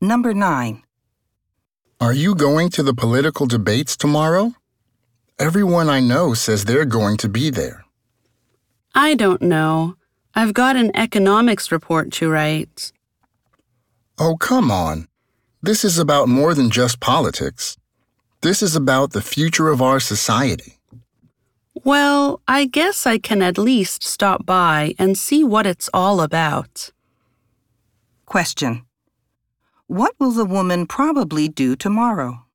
Number 9. Are you going to the political debates tomorrow? Everyone I know says they're going to be there. I don't know. I've got an economics report to write. Oh, come on. This is about more than just politics. This is about the future of our society. Well, I guess I can at least stop by and see what it's all about. Question. What will the woman probably do tomorrow?